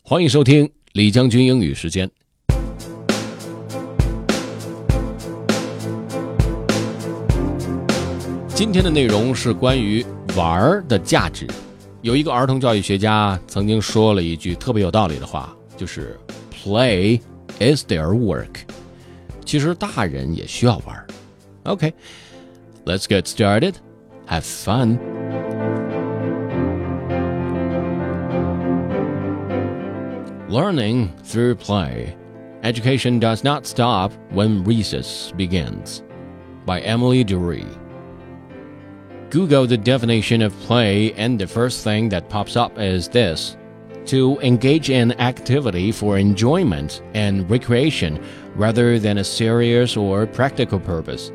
欢迎收听李将军英语时间。今天的内容是关于玩的价值。有一个儿童教育学家曾经说了一句特别有道理的话，就是 Play is their work。 其实大人也需要玩。 OK, let's get started. Have fun. Learning through play. Education does not stop when recess begins. By Emily Dury. Google the definition of play and the first thing that pops up is this: to engage in activity for enjoyment and recreation rather than a serious or practical purpose.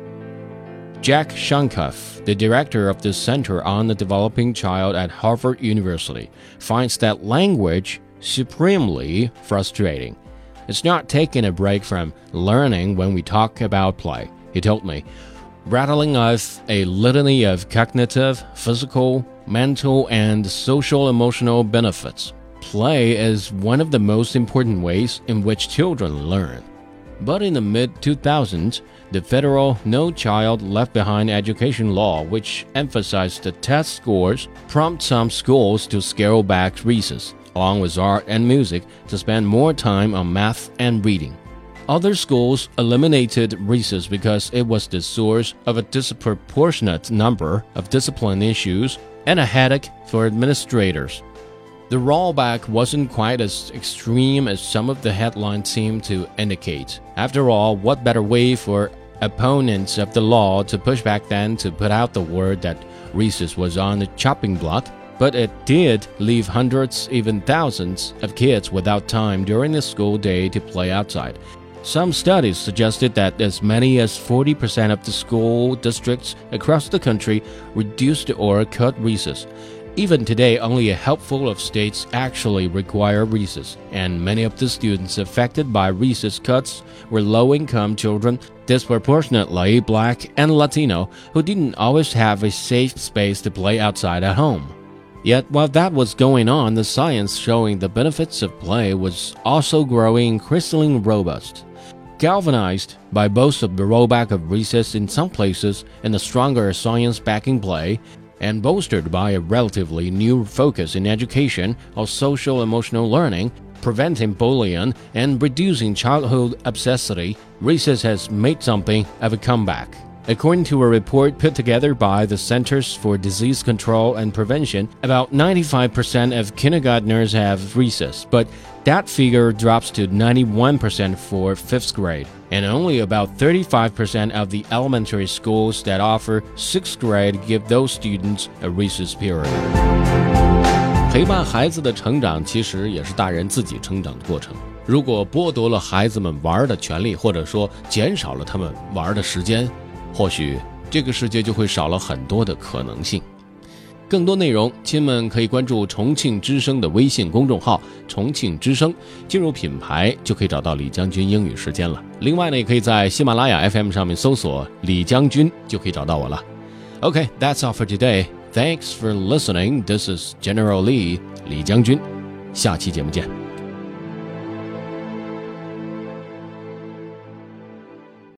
Jack Shunkoff, the director of the Center on the Developing Child at Harvard University, finds that language supremely frustrating. It's not taking a break from learning when we talk about play, he told me, rattling off a litany of cognitive, physical, mental, and social-emotional benefits. Play is one of the most important ways in which children learn. But in the mid-2000s, the federal No Child Left Behind education law, which emphasized the test scores, prompted some schools to scale back recess, along with art and music, to spend more time on math and reading. Other schools eliminated recess because it was the source of a disproportionate number of discipline issues and a headache for administrators. The rollback wasn't quite as extreme as some of the headlines seem to indicate. After all, what better way for opponents of the law to push back than to put out the word that recess was on the chopping block? But it did leave hundreds, even thousands, of kids without time during the school day to play outside. Some studies suggested that as many as 40% of the school districts across the country reduced or cut recess. Even today, only a handful of states actually require recess, and many of the students affected by recess cuts were low-income children, disproportionately Black and Latino, who didn't always have a safe space to play outside at home. Yet, while that was going on, the science showing the benefits of play was also growing increasingly robust. Galvanized by both of the rollback of recess in some places and the stronger science backing play, and bolstered by a relatively new focus in education of social-emotional learning, preventing bullying, and reducing childhood obesity, recess has made something of a comeback. According to a report put together by the Centers for Disease Control and Prevention, about 95% of kindergartners have recess, but that figure drops to 91% for 5th grade, and only about 35% of the elementary schools that offer 6th grade give those students a recess period. 陪伴孩子的成长其实也是大人自己成长的过程。如果剥夺了孩子们玩的权利，或者说减少了他们玩的时间，或许这个世界就会少了很多的可能性。更多内容，亲们可以关注重庆之声的微信公众号重庆之声，进入品牌就可以找到李将军英语时间了。另外呢，也可以在喜马拉雅 FM 上面搜索李将军就可以找到我了。 Okay, that's all for today. Thanks for listening. This is General Lee, 李将军。下期节目见。